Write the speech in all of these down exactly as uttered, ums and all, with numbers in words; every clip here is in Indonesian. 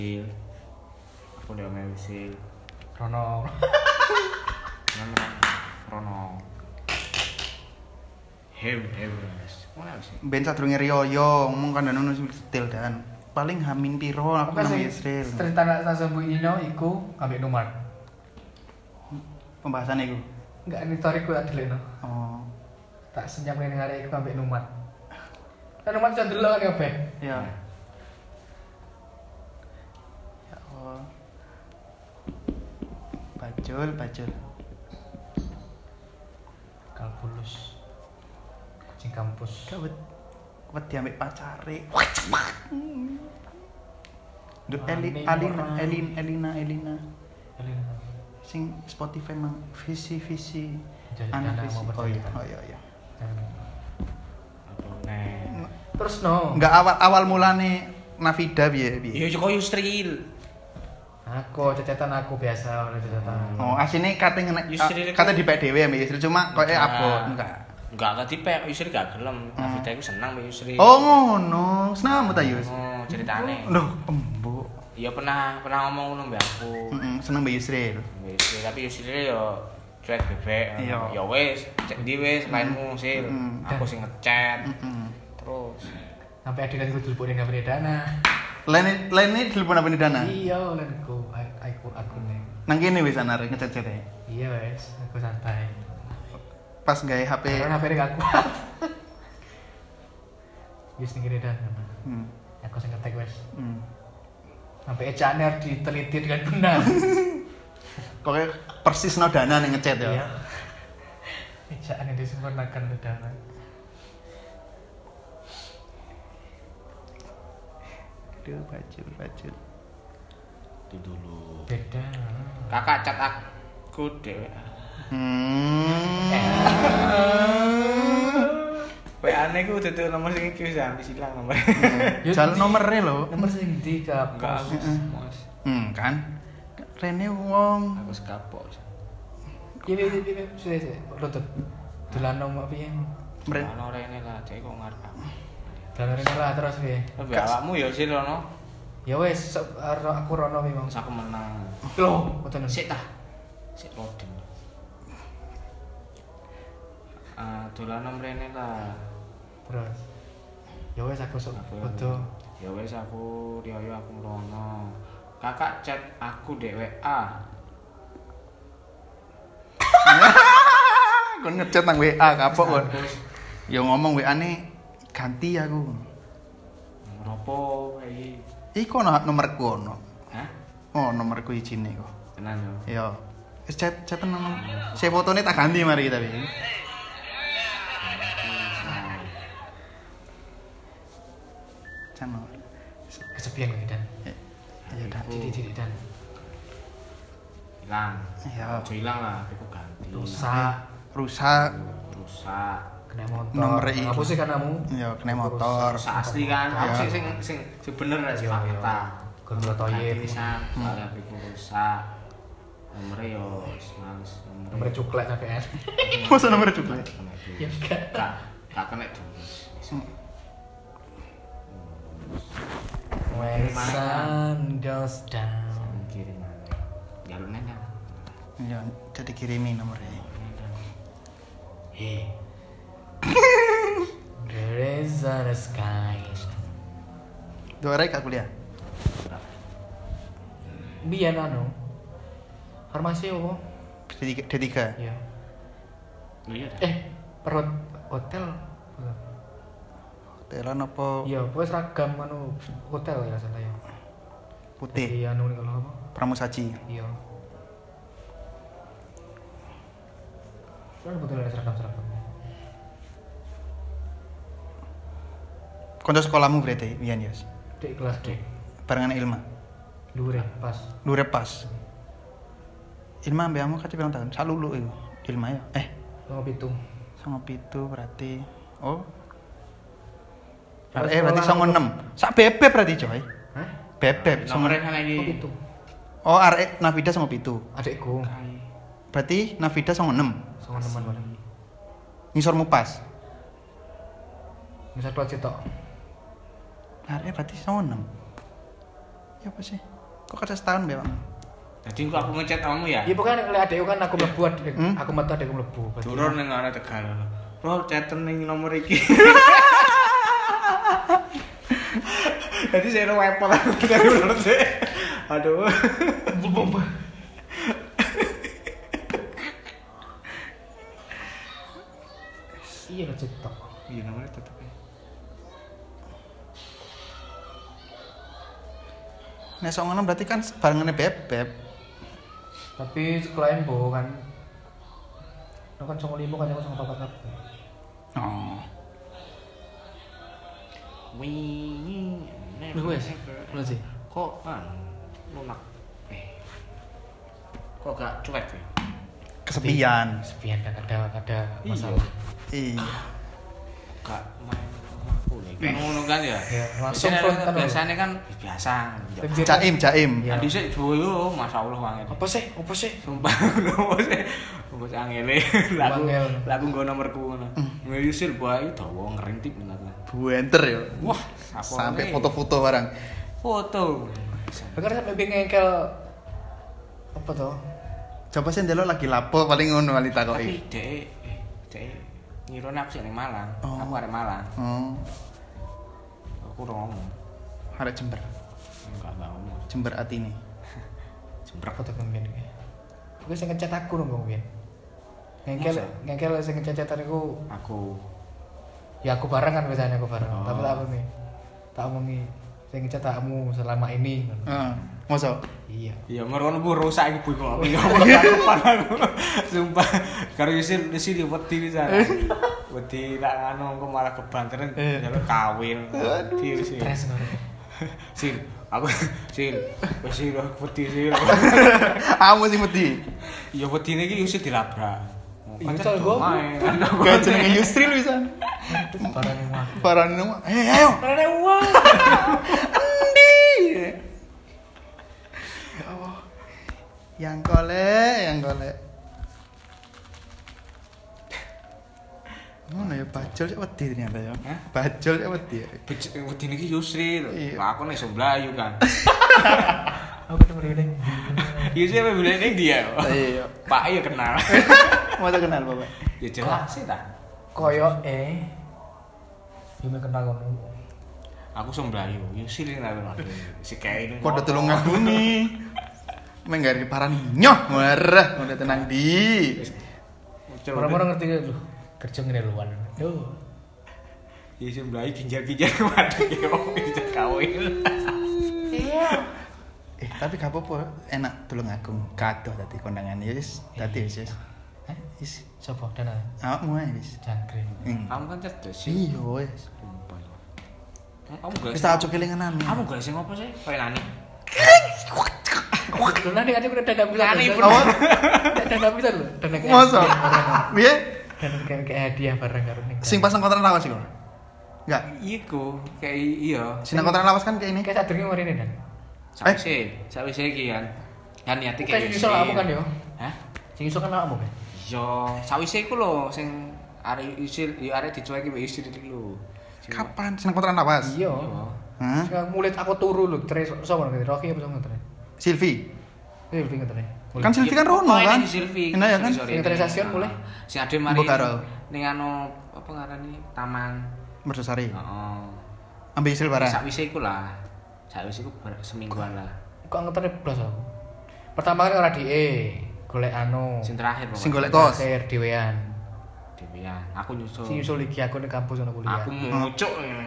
Aku udah ngewisil Rono. Rono. Hem, hem. Mana sih? Ben sadurunge riyo ngomong kandhane ono detail dan paling hamin piro aku nang Israel. Cerita nak sambungino iku ambek nomor. Pembahasan iku. Enggak ini historiku tak delekno. Oh. Tak senyap ning arek iku ambek nomor. Kan nomor iso ndelok kan kabeh. Iya. Ya Allah. Bajul, bajul. Kalkulus. Kucing kampus. Kawet wedi ambek pacare. Duk Eli, Alina, Elin, Elina, Elina. Elina. Sing Spotify mang visi visi. Jadi Anak dana visi. mau Oh iya, bercerita. oh iya, iya. Apa nih? Terus no. Enggak awal awal mulane Navida piye piye. Yo Joko Yusril. Aku cecetan aku biasa oleh cecetan. Oh, asine kate ngene Yusril kate iku- dipek dhewe ambek Yusril cuma koyo Enggak. abot enggak. Enggak enggak tipe Yusril gak gelem. Navita iku senang mbek Yusril. Oh ngono, senam ta Yus? Oh, ceritane. Loh, embuk. Iya pernah pernah ngomong ngono mbek aku. Heeh, seneng mbek Yusril. Mbek Yusril, tapi Yusril yo cuek bebek. Iya. Ya wis, cek ndi wis lainmu sil. Mm. Aku sing ngechat. Heeh. Terus Sampai adik aku dilebok ning gambar dana. Lain lain telepon apa dana? Iya, lenku aku aku nih. Nang kene wis anar ngechat-chat e. Iya wes, aku santai. Pas gawe H P. Karena H P gak kuat. Wis ning kene dan. Hmm. Aku sing ngetek wes. Hmm. Sampai ejaane harus diteliti dengan benar. Pokoknya persis no dana ning ngechat ya. Iya. Ejaane disempurnakan dana. Aduh, bajul, bajul. itu dulu. Beda. Kakak chat aku dhewe. Hmm. W A-ne ku dudu nomor sing iki wis habis ilang nomor. Jalan nomere lho. Nomor sing ndi Enggak kapos. aku. Mas. Hmm, kan. Rene wong. Aku sekapok. Ini ini ini sudah sudah. Lutut. Dolan nomor piye? Mren. Ono rene lah, cek kok ngarep aku. Dolan rene lah terus piye? Tapi awakmu ya sih Rono. Ya wes, so- aro- aku rono memang. Wis aku menang. Loh, boten. Sik tah. Sik loading. Ah, dolan nang rene lah. Terus. Ya wes aku sok Aku- foto. Ya wis aku riyo aku mrono. Kakak chat aku dek W A. Kon ngechat nang W A kapok kon. Ya ngomong W A-ne ganti aku. Ngropo iki? Iku ono nomorku ono. Hah? Oh, nomorku ijine kok. Tenan yo. Ya. Wis chat chat nang. Saya fotone tak ganti mari tapi. Cano. Kesepian lagi dan. Ya udah. Didik-didik dan. Hilang. Ya. Aja hilang lah, aku ganti. Rusak. Rusak. Rusak. Kena motor. Nomor iki. Apa sih kan kamu? Ya kena motor. Rusak asli kan. Aku Ya. sing sing sing sing bener lah sih Iya, fakta. Gondol toyib. Tulisan, soalnya H P-ku rusak. Nomornya yo wis males. Nomor cuklek sampai es. Masa nomor cukle? Ya enggak. Kak, kak kena dulu. When sun goes down. Kirim mana? Jalur nanya. Ya, jadi kirimi nomornya. Hei, There is a sky. Dua hari kak kuliah. Biar anu. Farmasi apa? D tiga. D tiga. Iya. iya dah. Eh, perut hotel. Hotelan apa Iya, pokoknya seragam anu hotel ya salah ya. putih? Iya, anu kalau apa? Pramusaji. Iya. Kan betul ada seragam-seragam. Konco sekolahmu berarti, Wian Yos. Dek kelas D. Barengan Ilma. Luwe pas. Lure pas. Ilma ambek kamu kate pirang tahun? Sak lulu iku. Ilma ya. Eh, Sama pitu. songo pitu berarti. Oh. Terus Eh berarti sekolah songo enam. Sak bebek berarti coy. Hah? Bebek songo. Nomornya kan Oh, lagi. pitu. Oh, arek Navida songo pitu. Adekku. Berarti Navida songo enam. Sama teman mana? Ngisormu pas. Misal kelas cetok. Arek berarti songo enam. Ya apa sih? Kok kerja setahun mbak? Jadi kok aku ngechat kamu ya? Iya pokoknya lek adekku kan aku mlebu adek. Hmm? Aku metu adekku mlebu. Berarti- Turun ning ana Tegal. Bro, chaten ning nomor iki. Jadi saya wepot aku dari menurut saya. Aduh. Iya lo cetok. Iya namanya tetep ya. Nek sok ngono berarti kan barengane bebek. Tapi klien bohong kan. Lo kan sama limo kan sama papat kabeh. Oh. Wingi. Lu wes. Lu sih. Kok kan lunak. Eh. Kok gak cuek ya? Kesepian. Sepian kan ada ada Iya. masalah. Iya. Gak main rumahku nih. Kan ngono kan ya. Ya, langsung Biasanya front kan, biasanya kan biasa. Tapi- Jaim, jaim. Iya. Andi sih boyo, masyaallah wangen. Apa sih? Apa sih? Sumpah ngono sih. Bos angele. Lagu Angel. lagu nggo nomorku ngono. Ngeyusil bae dawa ngerintip ngono. Buenter ya. Wah, Sampai foto-foto barang. foto. Bahkan sampai pengen ngengkel apa tuh? Coba sih ndelok lagi lapo paling ngono kali Tapi takoki. dek eh dek ngirone aku sih ning Malang. Oh. Aku arek Malang. Oh, Aku udah ngomong. arek Jember. Enggak enggak ngomong. Jember atine. Jembrek. Apa tuh kemudian iki? Gue sing ngecat aku dong kemudian. Ngengkel Masa? ngengkel sing ngecatan aku Aku ya aku bareng kan biasanya aku bareng. Oh. Tapi tak apa nih? Tak omongi sing ngecat takmu selama ini. Heeh. Mosok. Iya. ya merono bu rusak iki bu kok. Ya depan aku. Sumpah karo isin di sini wedi pisan. Wedi nak anu engko malah kebanteran njaluk kawin. Wedi sih. Stres ngono. Sil, aku sil, wis sil wedi sil. Kamu sing wedi. Ya wedine iki wis dilabrak. Iya, Pancen Col, main. Gak jenenge Yusril pisan. Barang mah. Parane mah. Eh, ayo. Ada uang. Andi. Ya Allah. Yang golek, yang golek. Ngono ya bajul cek wedi ternyata ya. Hah? Bajul cek wedi. ya. Bej- wedine iki Yusril. Iya. Lah aku nek iso mlayu kan. Aku ketemu dia. Yusril apa bilang ning dia. Iya. Pak ya kenal. Mau kenal Bapak. Ya jelas sih ta. Koyo eh. Yo kenal ngono. Aku iso mlayu. Yusril nek si kae ini. Kode tulung ngagumi. Menggari parani nyoh marah udah tenang di. Orang-orang ngerti lu. Kerja ngene luan. Yo. Ya iso mlayu ginjal-ginjal waduh ya bisa kawin. Iya. Eh tapi gak apa-apa enak tulung agung kadoh tadi kondangan ya wis dadi wis wis. Hah? Wis Sopo dana awakmu ae wis. jangkrik. Hmm. Kamu kan cerdas sih. Iya wis. Sumpah. Kamu gak Wis tak aja kelingan anu. Kamu gak sing ngopo sih? Kayak nani. Lu nanti aja udah dana bisa. Nani, Apa? Dana bisa lho. Dana kayak. Masa? Piye? Dana kayak kayak hadiah bareng karo ning. Sing pasang kontrak lawas iku. Enggak. Iku kayak iya. Sing kontrak lawas kan kayak ini. Kayak sadurunge mari ini dan. Sawise, sawise iki kan. Kan niate Kayak kayak iso aku kan yo. Hah? Sing iso kan awakmu kan. Iya, sawise iku lho sing arek isil, ya arek dicueki mbek istri iki lho. Sing- Kapan sing kontrak lawas? Iya. Iya. Hah? Sing mulit aku turu lho, terus sapa ngerti? Rocky apa sapa ngerti? Silvi. Eh, lebih ngerti. Kan Silvi kan rono Oh, ini kan? di Silvi. Enak ya kan? Sorry, sorry, Sing transaction ini. boleh? Ah. Sing ade mari Mbok karo. ning anu apa ngarani taman. Mersosari. Heeh. Ambil isil barang. Sakwise iku lah. Sakwise iku ber- semingguan lah. Kok ngetone blas aku. Pertama kan ora di E, golek anu. Sing terakhir pokoknya. Sing golek kos. Terakhir dhewean. Dewean. Aku nyusul. Sing nyusul iki aku ning kampus ono kuliah. Aku mucuk ngene.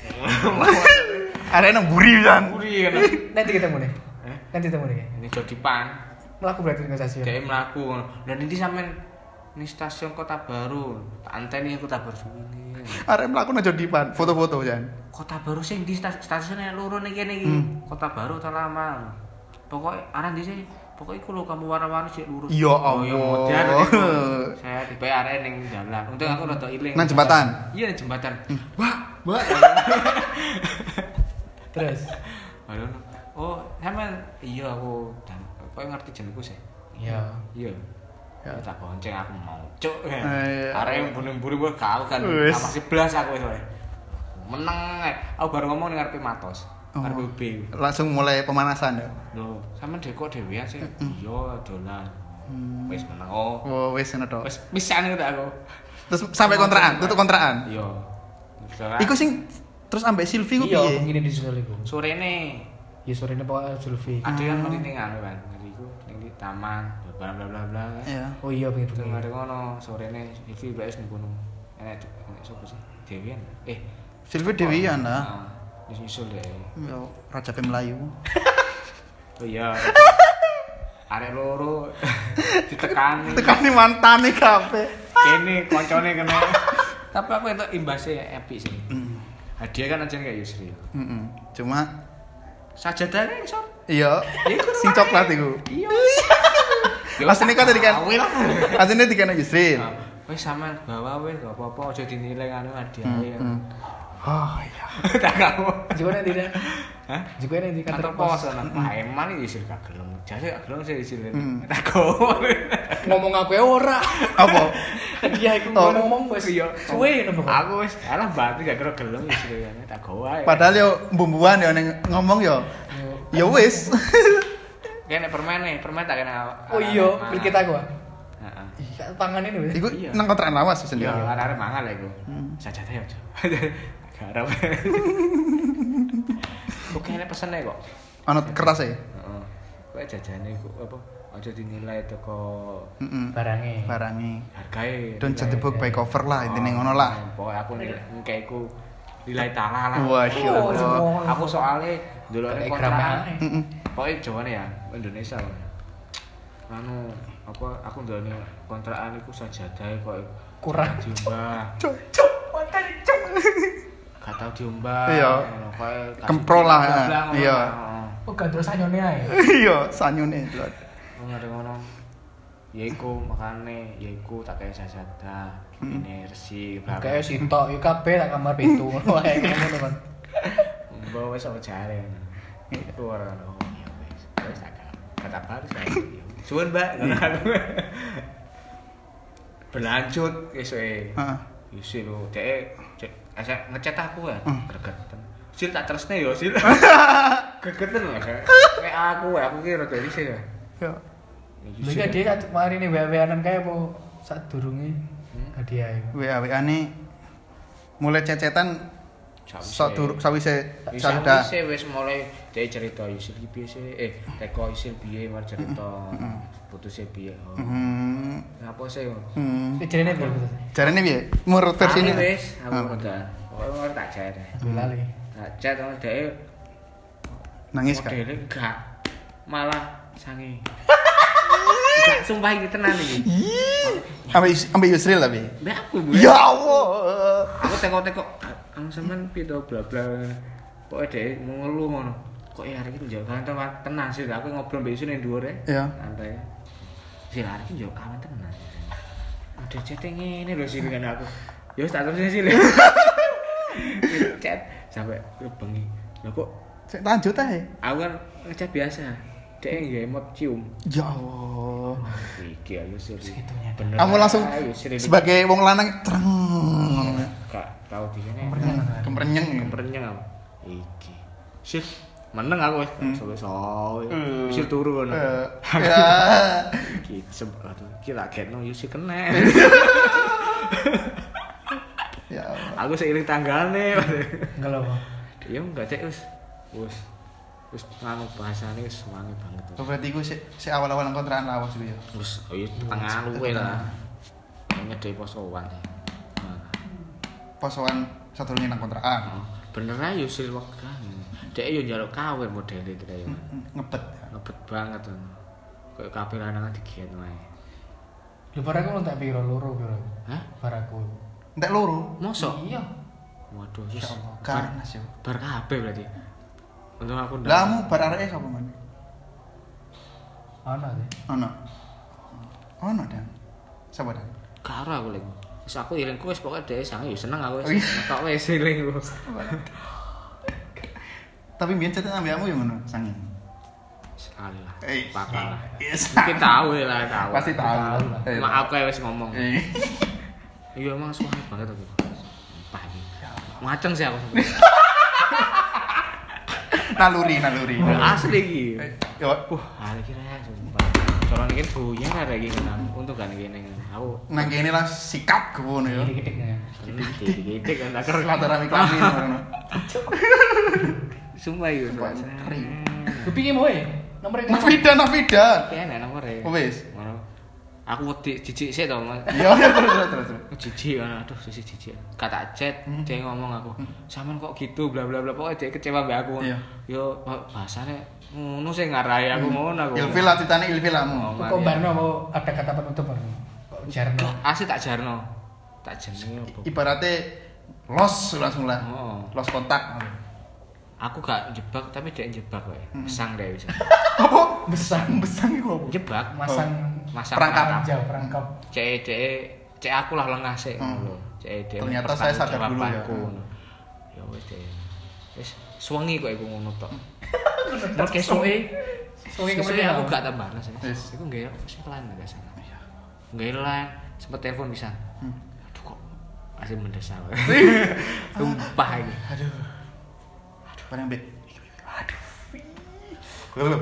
Arek nang buri pisan. Buri kan. Nanti ketemu nih. Eh? Nanti ketemu nih. Ini Jodipan. Melaku berarti ning stasiun. Dhek mlaku ngono. Dan ini sampean ning stasiun Kota Baru. Tak anteni Kota Baru suwene. Arek mlaku nang Jodipan, foto-foto jan. Kota Baru sing di stas- stasiunnya loro ning kene iki. Hmm. Kota Baru ta lama. Pokoke aran di sini. Pokoke iku lho kamu warna-warni sik lurus. Ya Oh, ya Allah. modern iku. Saya di P R ning dalan. Untung aku rada iling. Nang jembatan? Iya, nang jembatan. Wah, wah. Terus. Aduh. Oh, sampean iya aku dan kok ngerti jenengku sih. Iya. Iya. Ya. Ya tak bonceng aku mau cuk. iya. Arek yang bunuh-bunuh gue kau kan. Wis. Sama sebelas aku wis. Meneng. ae. Aku baru ngomong ning ngarepe Matos. Arep U B. Langsung mulai pemanasan ya. Lho, sampean dhek kok dhewean sih? Iya, dolan. Hmm. Wis meneng. Oh, Oh, wis ngono to. wis pisan itu aku. Terus sampai kontrakan, tutup kontrakan. Iya. Iku sing terus ambek Silvi ku Iya, piye? begini di sini iku. sorene Ya sorene pokoknya Zulfi. ada kan mari ning anu kan. Jadi iku ning di taman bla bla bla bla. Iya. Oh iya pengen Terus pengen. mari ngono sorene Silvi wis ning kono. Enek enek sapa sih? Dewian. Eh, Silvi Dewian lah. Heeh. Wis nyusul deh. Yo Raja P Melayu. Oh iya. Arek loro ditekani. Tekani mantane kabeh. Kene koncone kena. Tapi aku entuk imbasnya epic sih. Hmm. Hadiah kan aja kayak Yusri. Heeh. Cuma Sajadahnya isor. iya, sing coklat iku. Iya. Asline kan tadi kan. Awil. Asline dikene Yusril. Wis sampean bawa wis gak apa-apa aja dinilai anu hadiah. Hmm. Oh iya. Tak kamu. Juga nanti dah. Hah? Juga nanti Kantor kantor pos pos. ana Paeman iki Yusri gak gelem. Jare gak gelem sih Yusri. Hmm. Tak kamu. Ngomong aku ya ora. Apa? Dia iku Oh. ngomong wis Iya. suwe ngono pokoknya. Aku wis alah berarti gak kira gelem Yusri tak gawe. Padahal yo bumbuan yo ning ngomong yo. Ya wis. Kene permen nih, permen tak kena. Oh iya, beli kita gua. Heeh. Iya, tangan ini wis. Iku Iya. nang kontrakan lawas sendiri. Iya, arek mangan lah iku. Hmm. Sajadah ya, Cok. Garap. Oke, ini pesene kok. Ana kertas e. Heeh. Kowe jajane iku apa? Aja dinilai teko Heeh. Barangnya. Barange. hargae. Don't judge the book by cover lah, intine ngono lah. Pokoke aku nilai iku nilai taala lah. Wah, Oh, semua. Aku soalnya ndelokne Kayak kontrakan. gramane. Heeh. Pokoknya Jawane ya, Indonesia. Anu apa aku ndelokne kontrakan iku sajadah kok Kurang. diumbah. Cuk, cuk, makan cuk. Gak tau diumbah. Iya. Ngono, koyo kasih Kemprol lah, bla-bla, ngono. iya. Heeh. Oh, gak terus anyone ae. Iya, sanyune lho. Ngono ada ngono. Ya iku makane ya iku tak kaya sajadah, ini resi bla bla. Kayak sitok yo kabeh tak kamar pintu ngono ae ngono kan. Mbok wis apa jare. Itu ora ono. Ya wis. Wis tak kata baru saya. Suwun, Mbak. Ngono aku. Berlanjut esoke. Heeh. Yusil lho, dek asek ngechat aku ya, Hmm. gregeten. Sil tak tresne yo, Sil. Gregeten lho. Kayak aku, aku ki rada risih ya. Yo. Lha kan dia satu mari ini W W-anan kae apa sak durunge hadiah iku. W A W A-ne mulai cecetan sadurung sawise Bisa sada. wis wis mulai dek cerita Yusil ki piye sih? Eh, teko Yusil piye mari cerita. Putusnya piye. Oh. Hmm. Ngapa sih? Hmm. Iki jenenge piye betul? Jarene piye? Menurut versine. Aku wis, aku Ah. ngono. Pokoke ora tak chat. Lali. Tak chat sama dek Nangis kan? modele enggak. Malah sange. Enggak sumpah iki tenan iki. Ambe ambe Yusril tapi. Mbak aku Bu. Ya Allah. Aku teko-teko ang sampean piye to bla bla. Pokoke dek mau ngeluh ngono. Kok ya hari iki njok kantor tenang sih aku ngobrol mbek isine dhuwur e. Iya. Santai. Sih hari iki njok kawan tenang. Ada chat ngene lho sih kan aku. Ya wis tak terus sih. Chat sampai bengi. Lah kok Sik lanjut ae. aku kan ngechat biasa. Dek nggih emot cium. Ya Allah. Iki ayo sih. Segitunya. Bener. Kamu langsung ayo, Sir, ini. sebagai wong lanang tereng. Gak tau di kene. Kemrenyeng. Kemrenyeng apa? Iki. Sih, meneng aku wis sowe-sowe. Hmm. Wis turu ngono. Eh, Ya. Iki sebab iki tak getno yo sih kena. Ya Allah. Aku seiring tanggane. Enggak lho. Ya enggak cek wis. Wis. Wis nganu bahasane wis wangi banget. Oh, berarti iku sik sik awal-awal nang kontrakan lawas iku ya. Wis oh iya tengah luwe lah. Nyedhe posoan. Posoan sadurunge nang kontrakan. Bener ae yo sih wegah. Dek yo njaluk kawin modele kira yo. Ngebet. Ngebet banget tuh. Kayak kabeh lanang digiat wae. Lho baraku tak piro loro piro. Hah? Baraku. Entek loro. Mosok? Iya. Waduh, Ya yes. Allah, Bar, ganas yo. bar kabeh berarti. Untung aku ndak. Lah kamu bar areke sapa man? Ana sih. Ono. Ono dan. Sapa dan? Karo aku lek. Wis aku ilingku wis pokoke dhewe sange yo seneng aku Oh, wis. iya. Ngetok wis ilingku. Tapi biyen cetek ambeamu yo ngono, sange. Sekali lah. Eh, Pakal lah. yes. Mungkin tahu lah, tahu. Pasti tahu. Eh, Maaf kayak wis ngomong. Eh. Iya emang suami banget aku. Paham. Ngaceng sih aku. Naluri, naluri. Asli iki. Yo, Wah, hari iki rek sumpah. Soalnya iki goyang ada iki kan. Untuk kan kene. Aku nang kene lah sikat ngono yo. Gede-gede ya. gede kan tak keren. Latarami kelamin ngono. Sumpah iki. Kepingin mau ya? Nomor itu. Nafida, Nafida. Kene nomore. Wis. Ngono. Aku wedi jijik sik to, Mas. Yo, terus terus terus. Jijik kan, aduh sisi jijik. Kata chat, dia ngomong aku, "Sampean kok gitu bla bla bla." Pokoknya dia kecewa mbek aku. Iya. Yo, bahasane ngono sing ngarahi aku ngono aku. Ilfil lah titane ilfil lamu. Kok Barno mau ada kata penutup Barno? Kok Jarno? Asli tak jarno. Tak jenenge opo? Ibaratnya los langsung lah. Oh. Los kontak. Aku gak jebak tapi dia jebak kowe. Besang deh bisa. Apa? Besang. Besang iku apa? Jebak, Masang masang Perangkap. jauh perangkap. Cek cek cek aku lah lengah sih Hmm. ngono lho. Cek dia. Ternyata saya sadar dulu ya. Ya wis deh. Wis suwengi kok iku ngono tok. Terus Terus kesuke Suwi Sesuai kemudian aku gak tambah mas. Yes. Iku nggak sih lain nggak salah. Nggak lain. Sempet telepon bisa. Hmm. Aduh kok masih mendesak. Sumpah ini. Aduh. Aduh, bareng Bek. Aduh. Belum.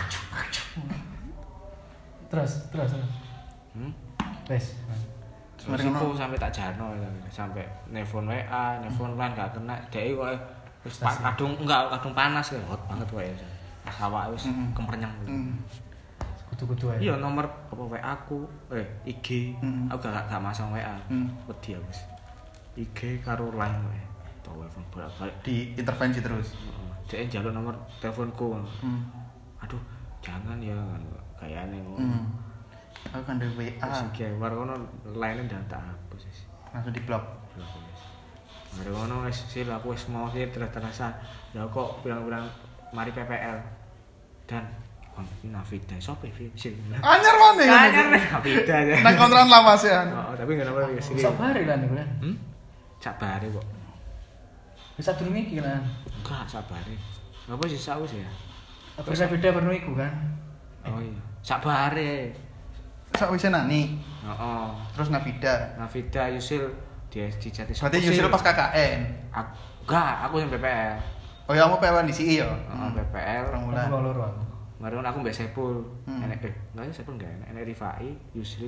terus terus terus. Hmm? Wes. Terus aku sampai tak jarno sampai nelfon W A, nelfon lan gak kena. Dek kok wis kadung enggak kadung panas ya, hot banget kowe. Pas awake wis kempernyang. Kutu-kutu ae. Iya nomor apa W A aku, eh I G. Mm. Aku gak gak masang W A. Mm. Wedi aku wis. I G karo line wae. Telepon bolak-balik. Di intervensi terus. Heeh. Dek njaluk nomor teleponku. Hmm. Aduh, jangan ya kayane ngono. Hmm. Aku kan di W A. Wis iki war ngono line ndak tak hapus wis. Langsung di blok. Blok wis. Mari ngono wis sil aku wis mau sih terasa. Ya kok bilang-bilang mari P P L. Dan Bang Nafida sopo iki sil. Anyar mana ya? Anyar Nafida ya. Nang kontrakan lawas ya. Oh, tapi enggak nomor wis. Sabare lah niku ya. Hmm? Sabare kok. Bisa durung iki lah. Enggak sabare. Apa sih saus ya? Apa bisa beda perno iku kan? Oh iya. Sabare. Sak wis nani. Heeh. Terus Nafida. Nafida Yusil dia dijati Berarti Yusil pas K K N. Aku, enggak, aku yang P P L. Oh ya kamu P W di C I ya? Heeh, P P L. Orang Aku bulan. loro aku. Mari aku mbek Sepul. Hmm. Enek eh, enggak ya Sepul enggak enek. Enek Rifai, Yusril.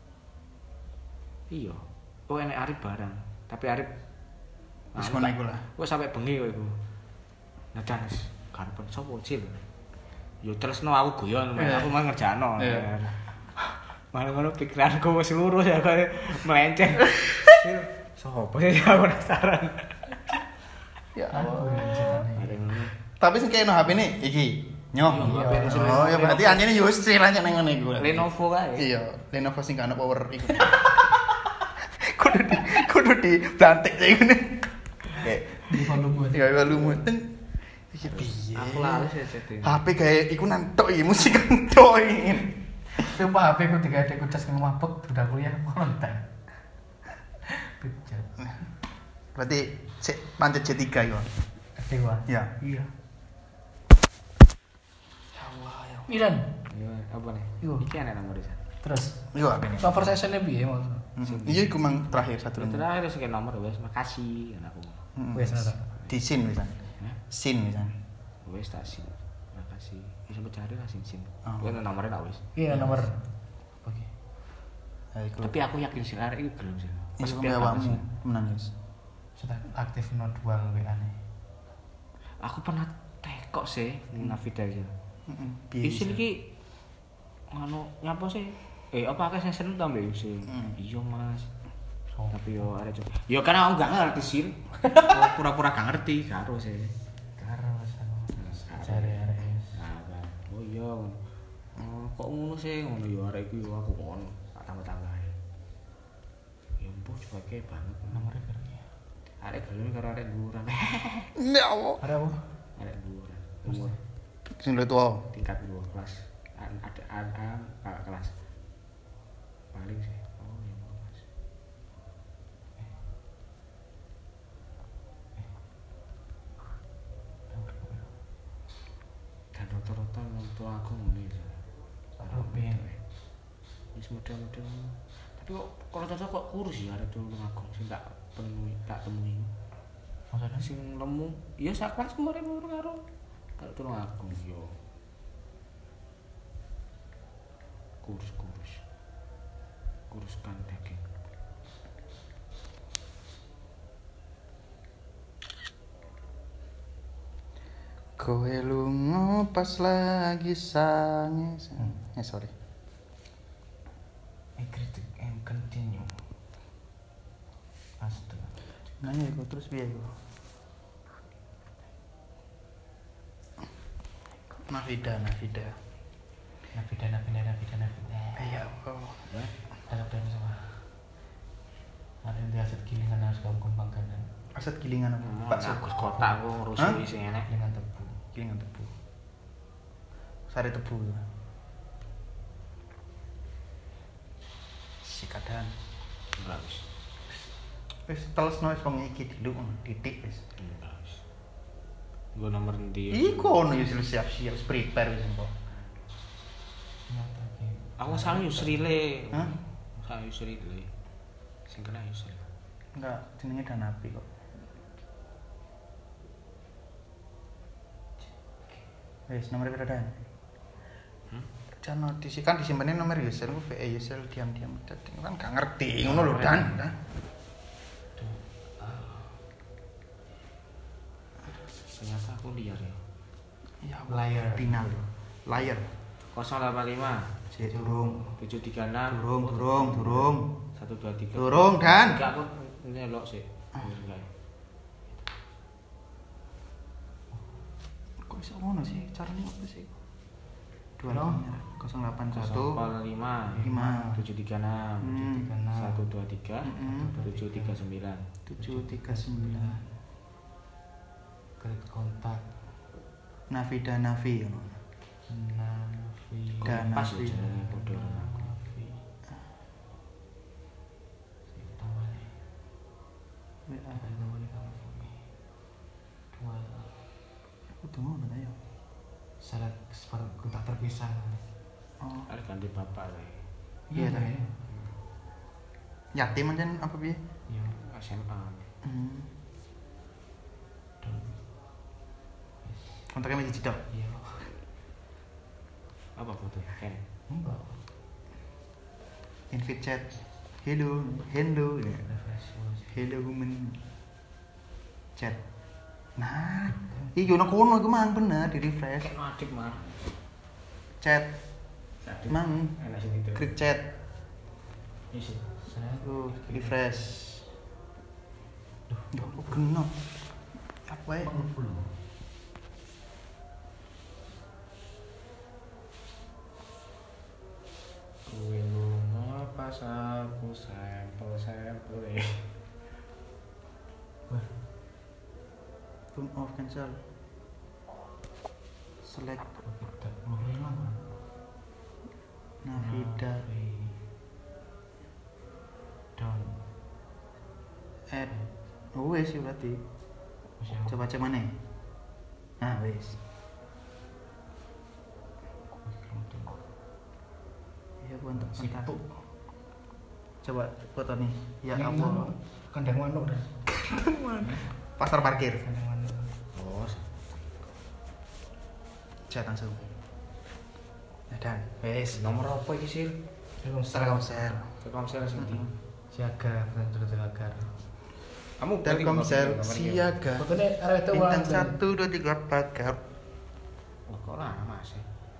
Iya. Oh enek Arif barang. Tapi Arif Wis ngono iku lah. Kok sampai bengi kok iku. Nah dan wis karepen sapa Cil. Yo tresno aku guyon, Iya. aku mah ngerjakno. Iya. Malah ngono pikiranku wis lurus ya kaya melenceng. Cil, sapa sih aku penasaran. Ya Aku Allah. yang ceritane. Ada ngono. Tapi sing kene H P ne iki. Nyoh. Iya, H P ne Lenovo. Oh ya berarti anjene yo wis cilanya nang ngene iku. Lenovo kae. Iya, Lenovo sing gak ana power iku. Kudu di kudu di plantik kayak ngene. Kayak Di volume. ya ya lu muteng. Iki piye? Aku lali sih setting. H P kayak iku nantok iki musik nantok iki. Sumpah H P ku tiga adek ku cas nang mabuk udah kuliah konten. Bejat. Berarti sik pancet C tiga iku. Adek gua. Ya. Iya. Ya Allah ya. Milan. Iya, apa nih? Iku. Iki ana nomor isa. Terus Iku H P ne. conversation-nya piye maksud? Iya iku mang terakhir satu Terus ini. terakhir sing nomor wis makasih kan aku. Wes ora. Di sin wisan. Hah? Sin wisan. Wis tak sin. Makasih. Bisa mencari lah sin sin. Oh. Kuwi nomornya tak wis. Iya nomor. Oke. Ya iku. Tapi aku yakin sih arek iki gelem sih. Iku Kesepian banget awakmu sih. temenan wis. Sudah aktif no dua W A-ne. Aku pernah tekok sih Navida iki. Heeh. Piye? Isil iki ngono nyapa sih? Eh apa akeh sing seneng ta mbek Isil? Hmm. Iya Mas. Oh. Tapi yo arek coba. Yo kan aku gak ngerti sih. Oh, pura-pura gak ngerti karo sih. Karo sama cari arek. Nah, kan. Oh iya. Oh, kok ngono sih ngono yo arek iku yo aku ngono. Tak tambah-tambah. Ya mbok coba kayak banget. Nomornya berapa? Arek gelem karo arek dhuwuran. Ya Allah. Ada apa? Arek dhuwuran. Umur Sing luwih tuwa. tingkat dua kelas. Ada ada kakak kelas. Paling sih. Oh, ya Mas. Dan rata-rata wong tua aku ngene ya. Rupiah. Wis model-model. Tapi kok kalau cocok kok kurus ya arek dulu aku sing tak penuhi tak temui. Maksudnya? Sing lemu, ya sak kelas kemarin umur karo Kalau tulung aku yo. Kurus-kurus. Kuruskan daging. Kowe lunga pas lagi sange. Eh sorry. I critic and continue. Astaga. Nanya iku terus piye iku? Nafida, Nafida. Nafida, Nafida, Nafida, Nafida. Iya, oh. Ya. Harap dan semua. Ada yang aset gilingan harus kamu kembangkan. Aset gilingan apa? Pak Sukus kotak aku ngerusuhi sing enek. Gilingan tebu. Gilingan tebu. Sari tebu. Sikadan. Enggak wis. Wis telesno wis wong iki diluk titik wis. Enggak wis. Nggo nomor endi? Iku ono yo siap-siap wis prepare wis engko. Aku sang Yusrile. Hah? Sang Yusrile. Sing kena Yusrile. Enggak, jenenge Danapi kok. Wis nomor berapa dan? Hmm? Jangan notis kan disimpannya nomor Yusel, V E Yusel diam-diam. Jadi kan gak ngerti ngono lho Dan. Ternyata aku liar ya. Iya, Liar. final lho. Liar. nol delapan lima Cek durung. tujuh tiga enam Durung, durung, durung. satu dua tiga. Durung Dan. Enggak aku nyelok sih. Enggak. Kok iso ngono sih? Carane apa sih? dua nol delapan satu nol lima lima tujuh tiga enam Hmm. satu dua tiga Mm-mm. tujuh tiga sembilan. tujuh tiga sembilan. Klik kontak. Navida Navi. Navi. Dan Pas Navi. ya jenenge padha karo aku. Navi. Sing tawane. W A. Ada tawane kamu. Dua. Aku tuh ngono ta ya. Syarat separuh kontak terpisah. Oh, Ada ganti bapak le. iya ta. Yatim ancen apa piye? Iya. S M A. Hmm. Don. Kontaknya masih cedok. Iya. Apa foto? Ken. Enggak. Invite chat. Hello, hello. Refresh was. Hello woman. Chat. Nah, iki ono kono iku mang bener di refresh. Kayak adip mah. Chat. Adip. Mang Enak sing itu. klik chat. Isi. Saya Tuh, refresh. Duh, duh, kok kena. Apa ya? Kuwi lunga pas aku sampel-sampel e. Turn off cancel. Select tidak ngobrol Navida down. add. Oh wes ya berarti. Coba cek mana? Nah wes. Iya gua untuk Sibuk. Coba foto nih. Ya Yang Allah. mana? Kandang manuk dah. Pasar parkir. Kandang manuk. Oh, Chat langsung. Ya dan wes. nomor apa iki sih? Telkomsel. Telkomsel sing ndi? Siaga, bukan terus agar. Kamu Telkomsel siaga. Fotonya arah itu Bintang satu dua tiga pagar. Oh, kok lama sih?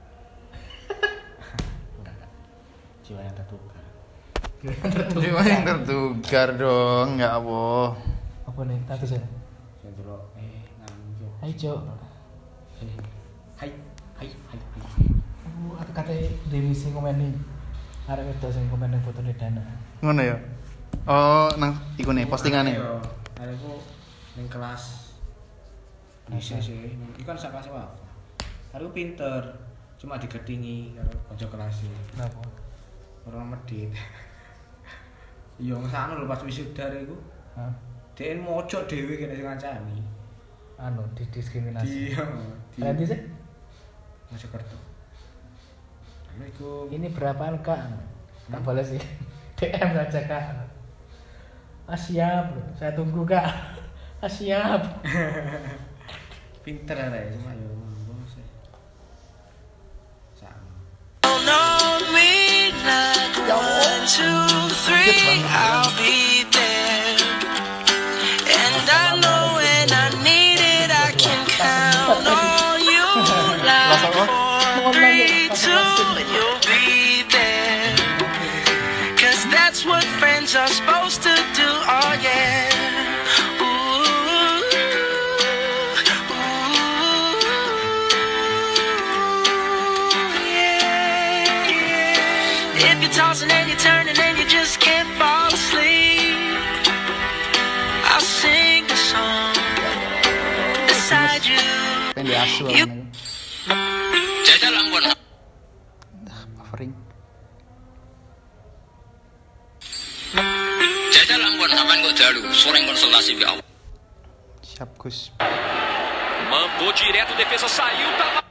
Enggak, enggak. Jiwa yang tertukar. Jiwa yang tertukar dong, nggak apa. Apa nih? Tadi saya. Saya delok eh nganjuk. Hai Cok. Eh, Hai, hai, hai. hai. Oh, aku kata Dewi sing komen nih. Arek itu sing komen ning fotone Dana. Ngono ya. Oh, nang iku nih postingane. Ada aku ning kelas. Bisa sih. Iku kan sak kelas wae. Aku pinter, cuma digetingi karo kanca kelas. Kenapa? Orang medit. Iya ngesana lho pas wisuda iku. Hah? Dek mojok dhewe kene sing ngancani. Anu didiskriminasi. Iya. Berarti sih Mojokerto. Anu iku ini berapaan Kak? Tak boleh sih. D M saja Kak. Ah siap, saya tunggu Kak. Ah siap. pinter arek cuma yo three, two, and you'll be there. Cause that's what friends are supposed to do, oh yeah. Tossing and you're turning and you just can't fall asleep. I'll sing the song beside you. Pendek asu You- aku. Jajal ampun. Buffering. Jajal ampun sampean kok dalu, sering konsultasi ke awak. Siap Gus. Mandou direto, defesa saiu, tá